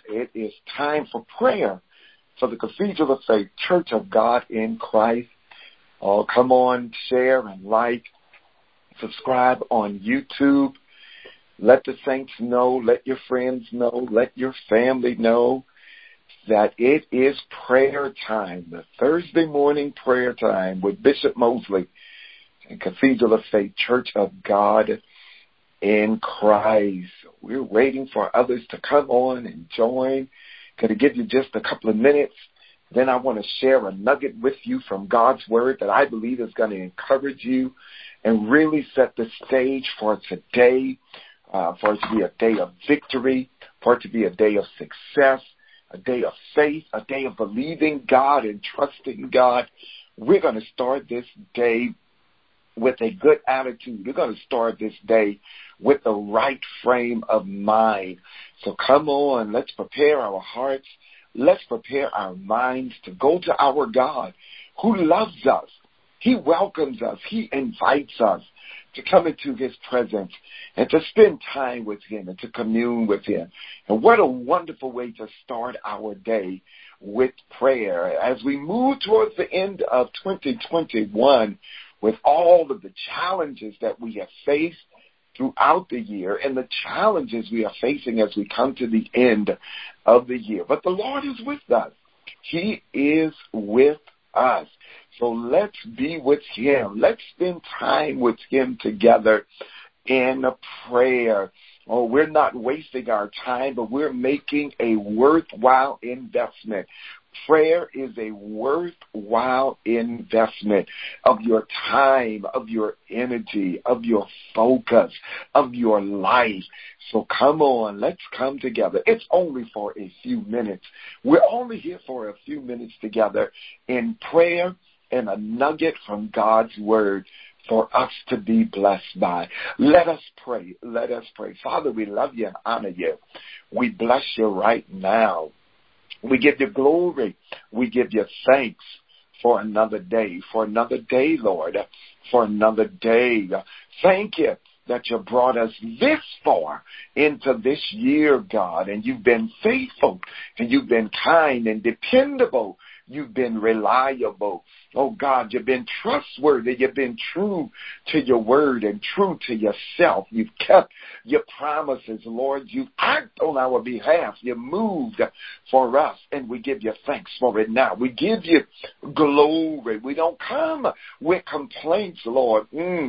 it is time for prayer for the Cathedral of Faith Church of God in Christ. Oh, come on, share and like, subscribe on YouTube. Let the saints know, let your friends know, let your family know that it is prayer time, the Thursday morning prayer time with Bishop Mosley and Cathedral of Faith Church of God in Christ. We're waiting for others to come on and join. Going to give you just a couple of minutes. Then I want to share a nugget with you from God's Word that I believe is going to encourage you and really set the stage for today, for it to be a day of victory, for it to be a day of success, a day of faith, a day of believing God and trusting God. We're going to start this day with a good attitude. We're going to start this day with the right frame of mind. So come on, let's prepare our hearts. Let's prepare our minds to go to our God who loves us. He welcomes us. He invites us to come into His presence and to spend time with Him and to commune with Him. And what a wonderful way to start our day with prayer. As we move towards the end of 2021 with all of the challenges that we have faced throughout the year and the challenges we are facing as we come to the end of the year. But the Lord is with us. He is with us. So let's be with Him. Let's spend time with Him together in prayer. Oh, we're not wasting our time, but we're making a worthwhile investment. Prayer is a worthwhile investment of your time, of your energy, of your focus, of your life. So come on, let's come together. It's only for a few minutes. We're only here for a few minutes together in prayer and a nugget from God's Word for us to be blessed by. Let us pray. Let us pray. Father, we love you and honor you. We bless you right now. We give you glory. We give you thanks for another day, Lord, for another day. Thank you that you brought us this far into this year, God, and you've been faithful, and you've been kind and dependable. You've been reliable. Oh, God, you've been trustworthy. You've been true to your word and true to yourself. You've kept your promises, Lord. You've acted on our behalf. You moved for us, and we give you thanks for it now. We give you glory. We don't come with complaints, Lord.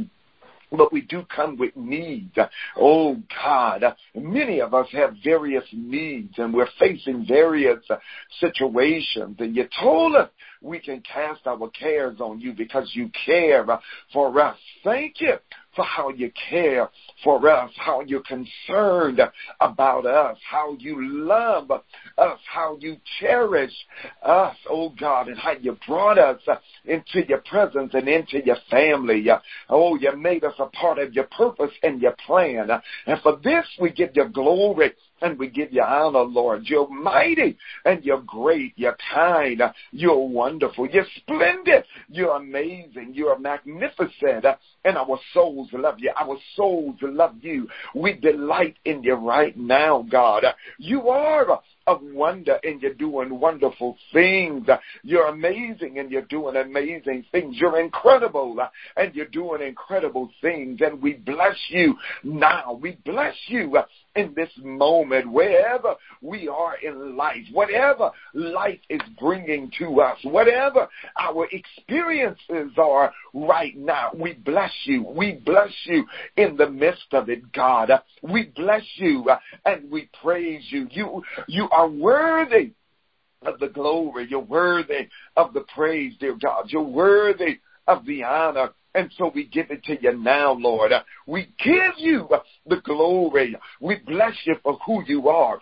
But we do come with needs. Oh, God, many of us have various needs, and we're facing various situations. And you told us we can cast our cares on you because you care for us. Thank you for how you care for us, how you're concerned about us, how you love us, how you cherish us, oh God, and how you brought us into your presence and into your family. Oh, you made us a part of your purpose and your plan. And for this, we give you glory and we give you honor, Lord. You're mighty and you're great. You're kind. You're wonderful. You're splendid. You're amazing. You're magnificent. And our souls love you. Our souls love you. We delight in you right now, God. You are of wonder and you're doing wonderful things. You're amazing and you're doing amazing things. You're incredible and you're doing incredible things. And we bless you now. We bless you in this moment, wherever we are in life, whatever life is bringing to us, whatever our experiences are right now. We bless you. We bless you in the midst of it, God. We bless you and we praise you. You are worthy of the glory. You're worthy of the praise, dear God. You're worthy of the honor. And so we give it to you now, Lord. We give you the glory. We bless you for who you are,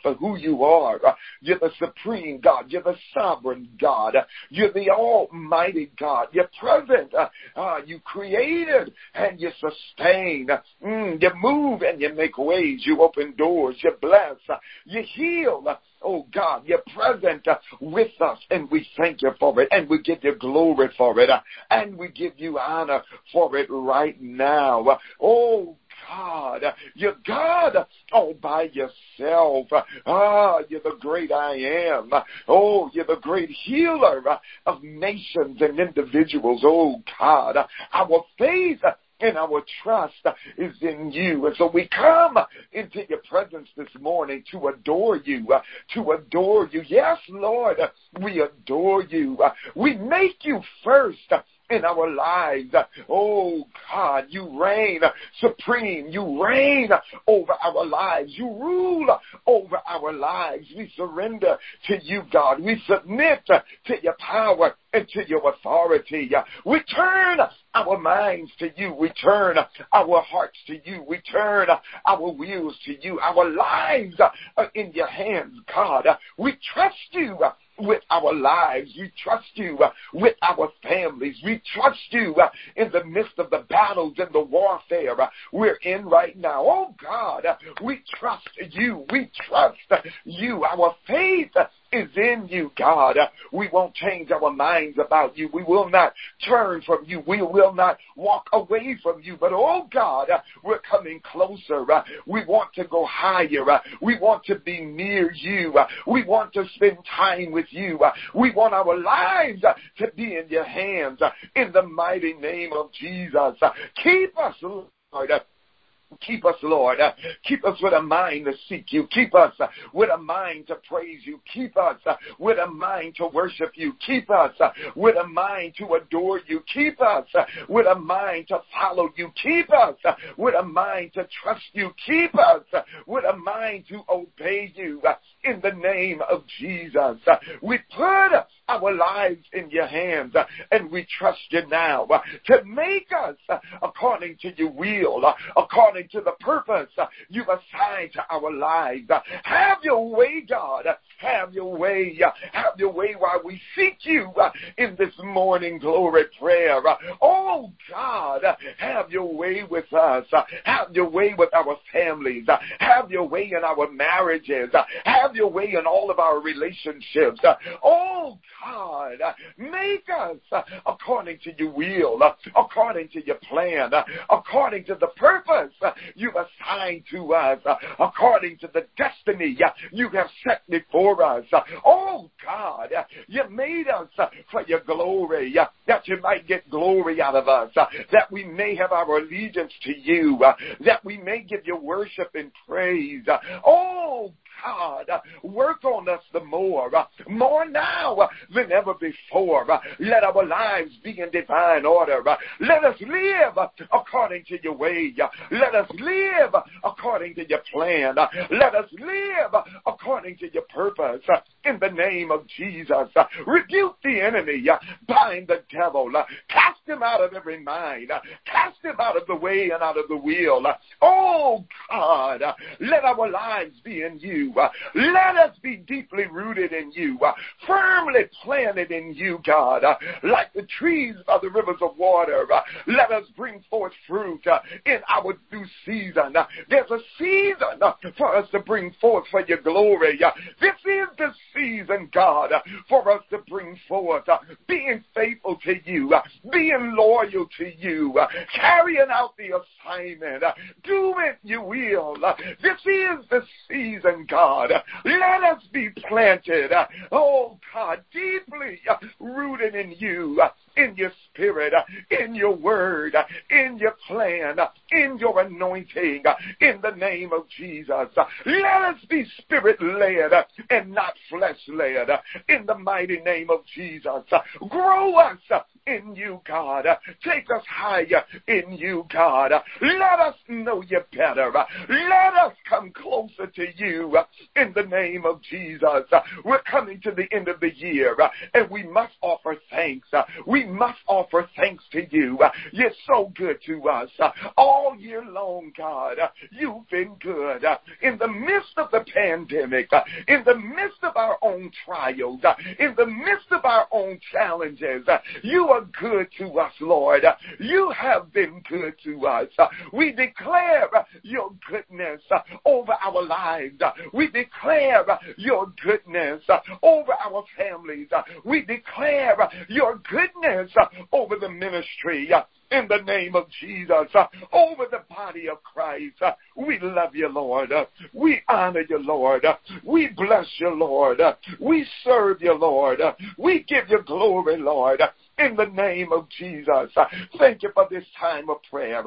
You're the supreme God. You're the sovereign God. You're the almighty God. You're present. You created and you sustain. You move and you make ways. You open doors. You bless. You heal. Oh, God, you're present with us, and we thank you for it, and we give you glory for it, and we give you honor for it right now. Oh, God, you're God all by yourself. You're the great I am. Oh, you're the great healer of nations and individuals. Oh, God, our faith and our trust is in you. And so we come into your presence this morning to adore you, Yes, Lord, we adore you. We make you first in our lives. Oh, God, you reign supreme. You reign over our lives. You rule over our lives. We surrender to you, God. We submit to your power and to your authority. We turn our minds to you. We turn our hearts to you. We turn our wills to you. Our lives are in your hands, God. We trust you with our lives. We trust you with our families. We trust you in the midst of the battles and the warfare we're in right now. Oh, God, we trust you. We trust you. Our faith is in you, God. We won't change our minds about you. We will not turn from you. We will not walk away from you. But, oh, God, we're coming closer. We want to go higher. We want to be near you. We want to spend time with you. We want our lives to be in your hands. In the mighty name of Jesus. Keep us, Lord. Keep us, Lord. Keep us with a mind to seek you. Keep us with a mind to praise you. Keep us with a mind to worship you. Keep us with a mind to adore you. Keep us with a mind to follow you. Keep us with a mind to trust you. Keep us with a mind to obey you. In the name of Jesus, we put our lives in your hands and we trust you now to make us according to your will, according to the purpose you've assigned to our lives. Have your way, God. Have your way. Have your way while we seek you in this morning glory prayer. Oh, God, have your way with us. Have your way with our families. Have your way in our marriages. Have your way in all of our relationships. Oh, God, make us according to your will, according to your plan, according to the purpose you've assigned to us, according to the destiny you have set before us. Oh, God, you made us for your glory, that you might get glory out of us, that we may have our allegiance to you, that we may give you worship and praise. Oh, God, work on us the more now than ever before. Let our lives be in divine order. Let us live according to your way. Let us live according to your plan. Let us live according to your purpose. In the name of Jesus, rebuke the enemy, bind the devil, cast him out of every mind, cast him out of the way and out of the will. Oh, God, let our lives be in you. Let us be deeply rooted in you, firmly planted in you, God, like the trees by the rivers of water. Let us bring forth fruit in our due season. There's a season for us to bring forth for your glory. This is the season, God, for us to bring forth being faithful to you, being loyal to you, carrying out the assignment, doing your will. This is the season, God. Let us be planted, oh God, deeply rooted in you, in your spirit, in your word, in your plan, in your anointing, in the name of Jesus. Let us be spirit-led and not flesh-led, in the mighty name of Jesus. Grow us in you, God. Take us higher in you, God. Let us know you better. Let us come closer to you in the name of Jesus. We're coming to the end of the year, and we must offer thanks. We must offer thanks to you. You're so good to us. All year long, God, you've been good. In the midst of the pandemic, in the midst of our own trials, in the midst of our own challenges, you are good to us, Lord. You have been good to us. We declare your goodness over our lives. We declare your goodness over our families. We declare your goodness over the ministry. in the name of Jesus over the body of Christ. We love you, Lord. We honor you, Lord. We bless you, Lord. We serve you, Lord. We give you glory, Lord, in the name of Jesus. Thank you for this time of prayer.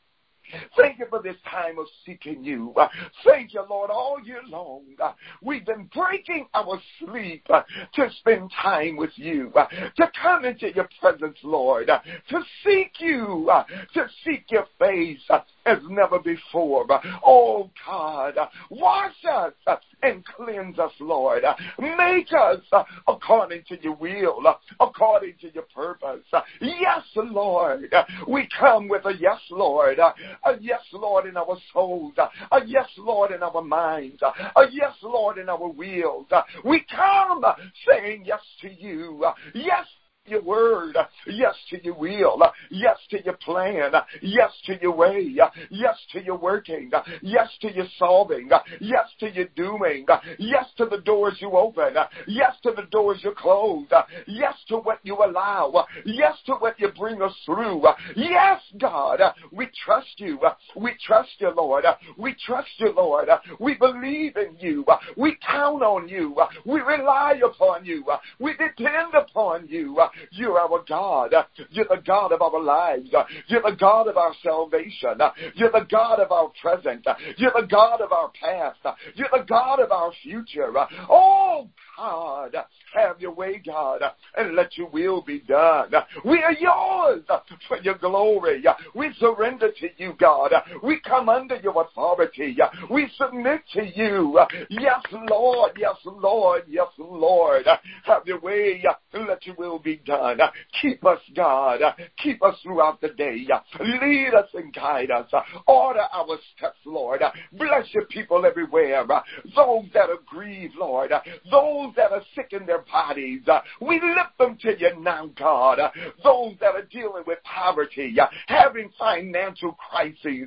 Thank you for this time of seeking you. Thank you, Lord, all year long. We've been breaking our sleep to spend time with you, to come into your presence, Lord, to seek you, to seek your face as never before. Oh, God, wash us and cleanse us, Lord. Make us according to your will, according to your purpose. Yes, Lord. We come with a yes, Lord. A yes, Lord, in our souls. A yes, Lord, in our minds. A yes, Lord, in our wills. We come saying yes to you. Yes to your word. Yes to your will. Yes to your plan. Yes to your way. Yes to your working. Yes to your solving. Yes to your doing. Yes to the doors you open. Yes to the doors you close. Yes to what you allow. Yes to what you bring us through. Yes, God, we trust you. We trust you, Lord. We trust you, Lord. We believe in you. We count on you. We rely upon you. We depend upon you. You're our God. You're the God of our lives. You're the God of our salvation. You're the God of our present. You're the God of our past. You're the God of our future. Oh, God, have your way, God, and let your will be done. We are yours for your glory. We surrender to you, God. We come under your authority. We submit to you. Yes, Lord. Yes, Lord. Yes, Lord. Have your way and let your will be done. Keep us, God. Keep us throughout the day. Lead us and guide us. Order our steps, Lord. Bless your people everywhere. Those that are grieved, Lord. Those that are sick in their bodies. We lift them to you now, God. Those that are dealing with poverty, having financial crises.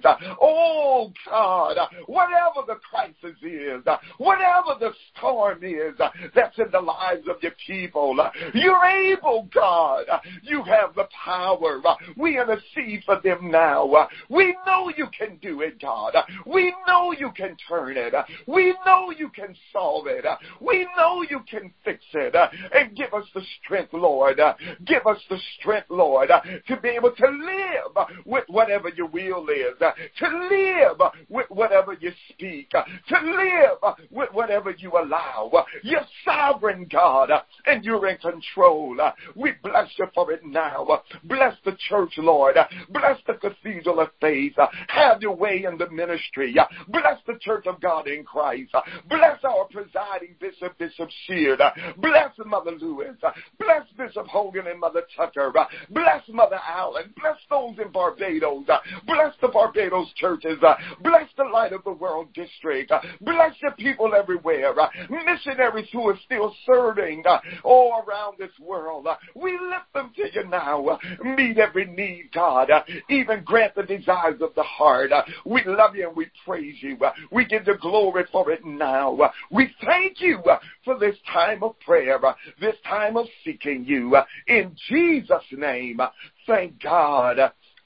Oh, God, whatever the crisis is, whatever the storm is that's in the lives of your people, you're able, God. You have the power. We intercede for them now. We know you can do it, God. We know you can turn it. We know you can solve it. We know you can fix it. And give us the strength, Lord. Give us the strength, Lord, to be able to live with whatever your will is, to live with whatever you speak, to live with whatever you allow. You're sovereign, God, and you're in control. We bless you for it now. Bless the church, Lord. Bless the Cathedral of Faith. Have your way in the ministry. Bless the Church of God in Christ. Bless our presiding bishop, Bishop Sheard. Bless Mother Lewis. Bless Bishop Hogan and Mother Tucker. Bless Mother Allen. Bless those in Barbados. Bless the Barbados churches. Bless the Light of the World District. Bless your people everywhere. Missionaries who are still serving all around this world. We lift them to you now. Meet every need, God. Even grant the desires of the heart. We love you and we praise you. We give you glory for it now. We thank you for this time of prayer, this time of seeking you. In Jesus' name, thank God.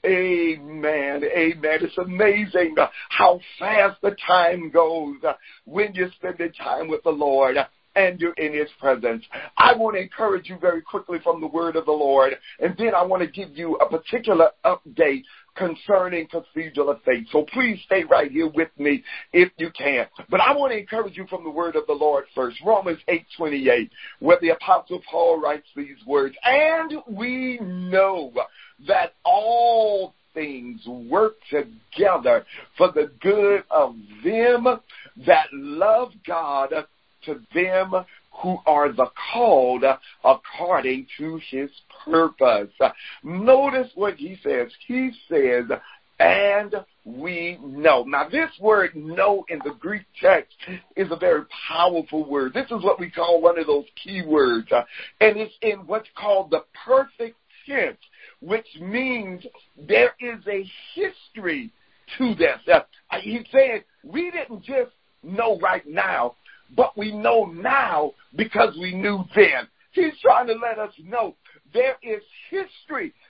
Amen. Amen. It's amazing how fast the time goes when you're spending time with the Lord and you're in His presence. I want to encourage you very quickly from the word of the Lord, and then I want to give you a particular update concerning Cathedral of Faith. So please stay right here with me if you can. But I want to encourage you from the word of the Lord first. Romans 8:28, where the Apostle Paul writes these words, and we know that all things work together for the good of them that love God, to them who are the called according to His purpose. Notice what he says. He says, and we know. Now, this word know in the Greek text is a very powerful word. This is what we call one of those key words. And it's in what's called the perfect tense, which means there is a history to this. He's saying we didn't just know right now, but we know now because we knew then. He's trying to let us know there is history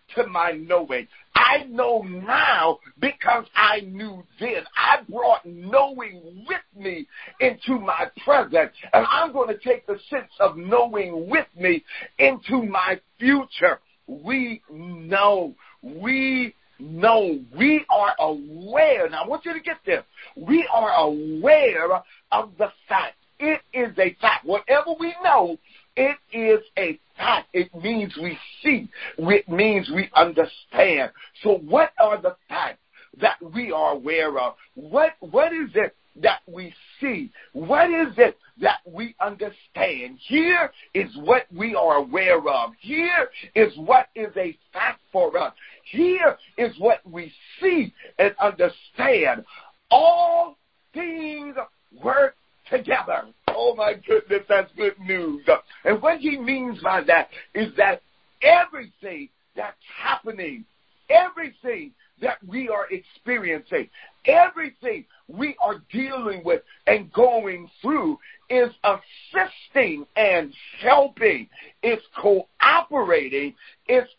to my knowing. I know now because I knew then. I brought knowing with me into my present. And I'm going to take the sense of knowing with me into my future. We know. We are aware. Now, I want you to get this. We are aware of the fact. It is a fact. Whatever we know, it is a fact. It means we see. It means we understand. So what are the facts that we are aware of? What is it that we see? What is it that we understand? Here is what we are aware of. Here is what is a fact for us. Here is what we see and understand. All things work together. Oh my goodness, that's good news. And what he means by that is that everything that's happening, everything that we are experiencing, everything we are dealing with and going through is assisting and helping. It's cooperating. It's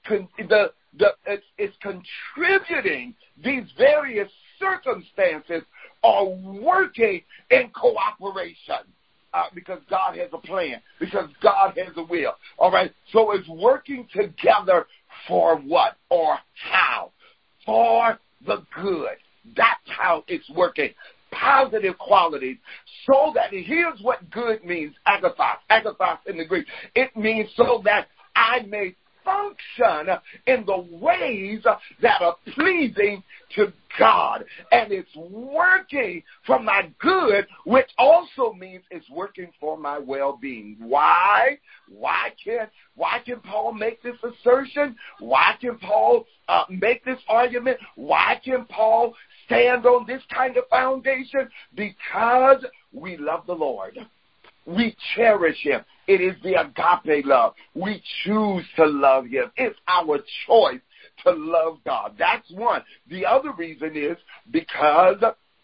contributing. These various circumstances are working in cooperation. Because God has a plan, because God has a will. All right, so it's working together for what or how? For the good. That's how it's working. Positive qualities. So that, here's what good means, agathos in the Greek. It means so that I may function in the ways that are pleasing to God. And it's working for my good, which also means it's working for my well-being. Why? Why can Paul make this assertion? Why can Paul make this argument? Why can Paul stand on this kind of foundation? Because we love the Lord. We cherish him. It is the agape love. We choose to love him. It's our choice to love God. That's one. The other reason is because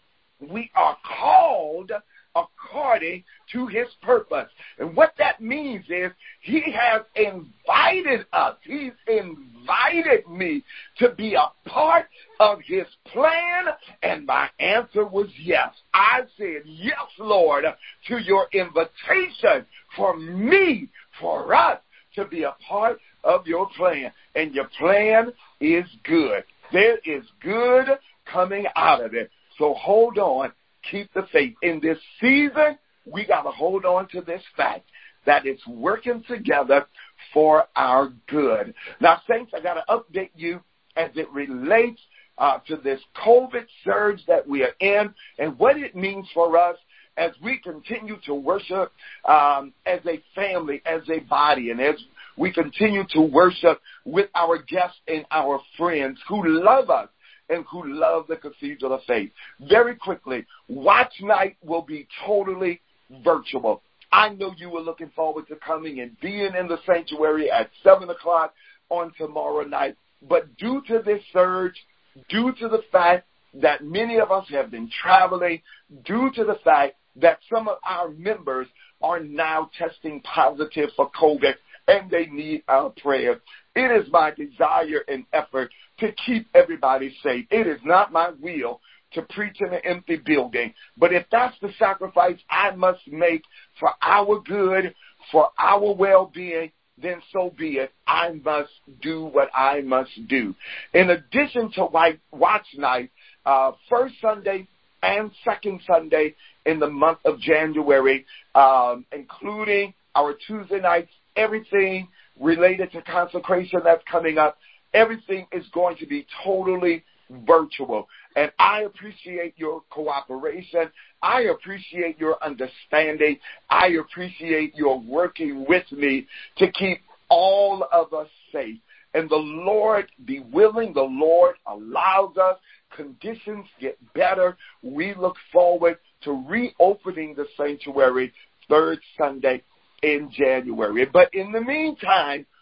we are called according to his purpose. And what that means is he has invited us. He's invited me to be a part of his plan, and my answer was yes. I said, yes, Lord, to your invitation for me, for us to be a part of your plan. And your plan is good. There is good coming out of it. So hold on. Keep the faith. In this season, we got to hold on to this fact that it's working together for our good. Now, saints, I got to update you as it relates to this COVID surge that we are in and what it means for us as we continue to worship as a family, as a body, and as we continue to worship with our guests and our friends who love us and who love the Cathedral of Faith. Very quickly, Watch Night will be totally virtual. I know you were looking forward to coming and being in the sanctuary at 7 o'clock on tomorrow night. But due to this surge, due to the fact that many of us have been traveling, due to the fact that some of our members are now testing positive for COVID, and they need our prayer. It is my desire and effort to keep everybody safe. It is not my will to preach in an empty building. But if that's the sacrifice I must make for our good, for our well-being, then so be it. I must do what I must do. In addition to Watch Night, first Sunday and second Sunday in the month of January, including our Tuesday nights, everything related to consecration that's coming up, everything is going to be totally virtual. And I appreciate your cooperation. I appreciate your understanding. I appreciate your working with me to keep all of us safe. And the Lord be willing, the Lord allows us, conditions get better. We look forward to reopening the sanctuary third Sunday in January. But in the meantime,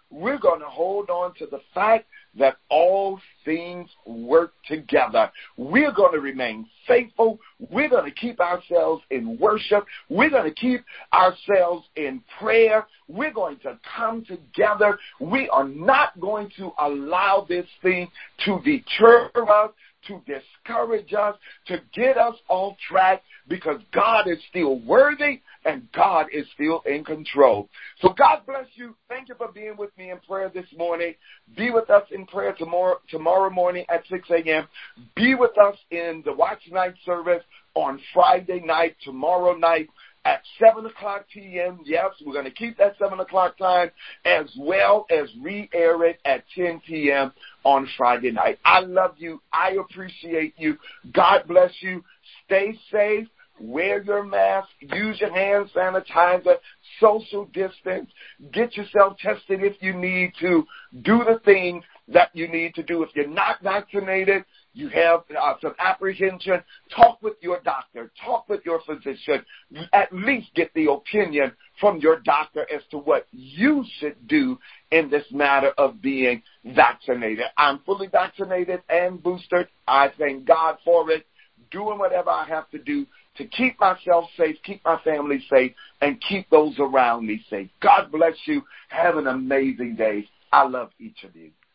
we're going to hold on to the fact that all things work together. We're going to remain faithful. We're going to keep ourselves in worship. We're going to keep ourselves in prayer. We're going to come together. We are not going to allow this thing to deter us, to discourage us, to get us off track, because God is still worthy and God is still in control. So God bless you. Thank you for being with me in prayer this morning. Be with us in prayer tomorrow morning at 6 a.m. Be with us in the Watch Night service on Friday night, tomorrow night at 7 o'clock p.m. Yes, we're going to keep that 7 o'clock time, as well as re-air it at 10 p.m. on Friday night. I love you. I appreciate you. God bless you. Stay safe. Wear your mask. Use your hand sanitizer. Social distance. Get yourself tested if you need to. Do the things that you need to do. If you're not vaccinated, you have some apprehension, talk with your doctor. Talk with your physician. At least get the opinion from your doctor as to what you should do in this matter of being vaccinated. I'm fully vaccinated and boosted. I thank God for it. Doing whatever I have to do to keep myself safe, keep my family safe, and keep those around me safe. God bless you. Have an amazing day. I love each of you.